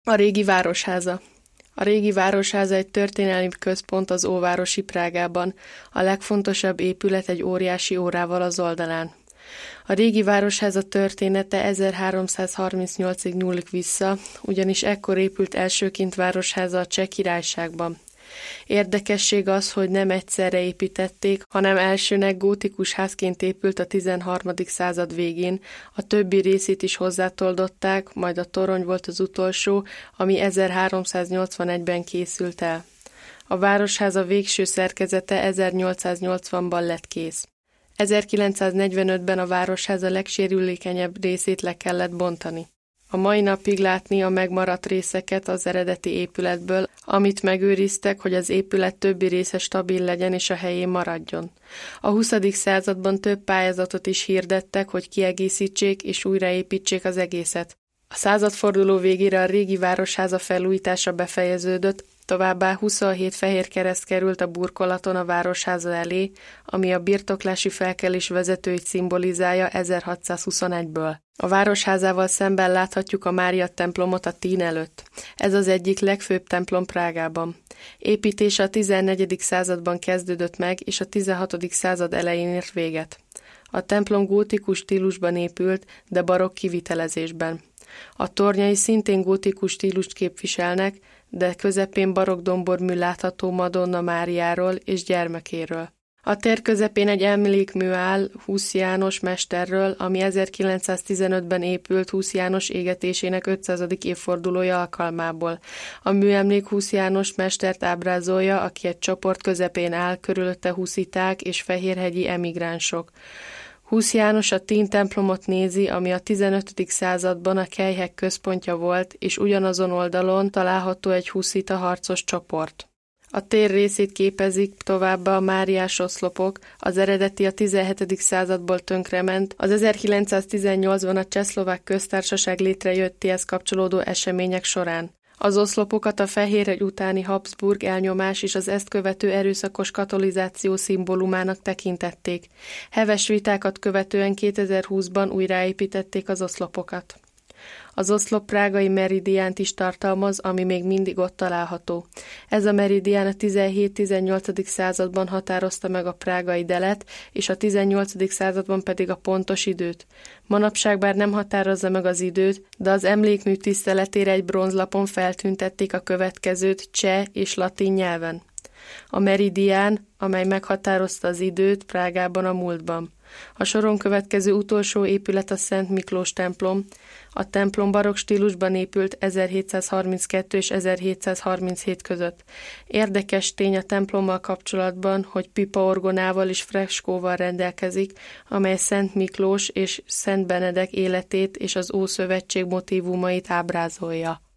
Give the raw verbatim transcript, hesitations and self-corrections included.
A régi városháza. A régi városháza egy történelmi központ az óvárosi Prágában, a legfontosabb épület egy óriási órával az oldalán. A régi városháza története ezerháromszázharmincnyolcig nyúlik vissza, ugyanis ekkor épült elsőként városháza a Cseh Királyságban. Érdekesség az, hogy nem egyszerre építették, hanem elsőnek gótikus házként épült a tizenharmadik század végén, a többi részét is hozzátoldották, majd a torony volt az utolsó, ami ezerháromszáznyolcvanegyben készült el. A városháza végső szerkezete ezernyolcszáznyolcvanban lett kész. ezerkilencszáznegyvenötben a városháza legsérülékenyebb részét le kellett bontani. A mai napig látni a megmaradt részeket az eredeti épületből, amit megőriztek, hogy az épület többi része stabil legyen és a helyén maradjon. A huszadik században több pályázatot is hirdettek, hogy kiegészítsék és újraépítsék az egészet. A századforduló végére a régi városháza felújítása befejeződött, továbbá huszonhét fehér kereszt került a burkolaton a városháza elé, ami a birtoklási felkelés vezetőit szimbolizálja ezerhatszázhuszonegyből. A városházával szemben láthatjuk a Mária templomot a Tín előtt. Ez az egyik legfőbb templom Prágában. Építése a tizennegyedik században kezdődött meg, és a tizenhatodik század elején ért véget. A templom gótikus stílusban épült, de barokk kivitelezésben. A tornyai szintén gótikus stílust képviselnek, de közepén barokk dombormű látható Madonna Máriáról és gyermekéről. A tér közepén egy emlékmű áll Husz János mesterről, ami ezerkilencszáztizenötben épült Husz János égetésének ötszázadik évfordulója alkalmából. A műemlék Husz János mestert ábrázolja, aki egy csoport közepén áll, körülötte husziták és fehérhegyi emigránsok. Husz János a Tín templomot nézi, ami a tizenötödik században a kelyhek központja volt, és ugyanazon oldalon található egy huszita harcos csoport. A tér részét képezik továbbá a máriás oszlopok, az eredeti a tizenhetedik századból tönkrement, az ezerkilencszáztizennyolcban a Csehszlovák köztársaság létrejöttéhez kapcsolódó események során. Az oszlopokat a Fehérhegy utáni Habsburg elnyomás és az ezt követő erőszakos katolizáció szimbólumának tekintették. Heves vitákat követően kétezer-húszban újraépítették az oszlopokat. Az oszlop prágai meridiánt is tartalmaz, ami még mindig ott található. Ez a meridián a tizenhét-tizennyolcadik században határozta meg a prágai delet, és a tizennyolcadik században pedig a pontos időt. Manapság bár nem határozza meg az időt, de az emlékmű tiszteletére egy bronzlapon feltüntették a következőt cseh és latin nyelven. A meridián, amely meghatározta az időt Prágában a múltban. A soron következő utolsó épület a Szent Miklós templom. A templom barokk stílusban épült ezerhétszázharminckettő és ezerhétszázharminchét között. Érdekes tény a templommal kapcsolatban, hogy pipaorgonával és freskóval rendelkezik, amely Szent Miklós és Szent Benedek életét és az Ószövetség motívumait ábrázolja.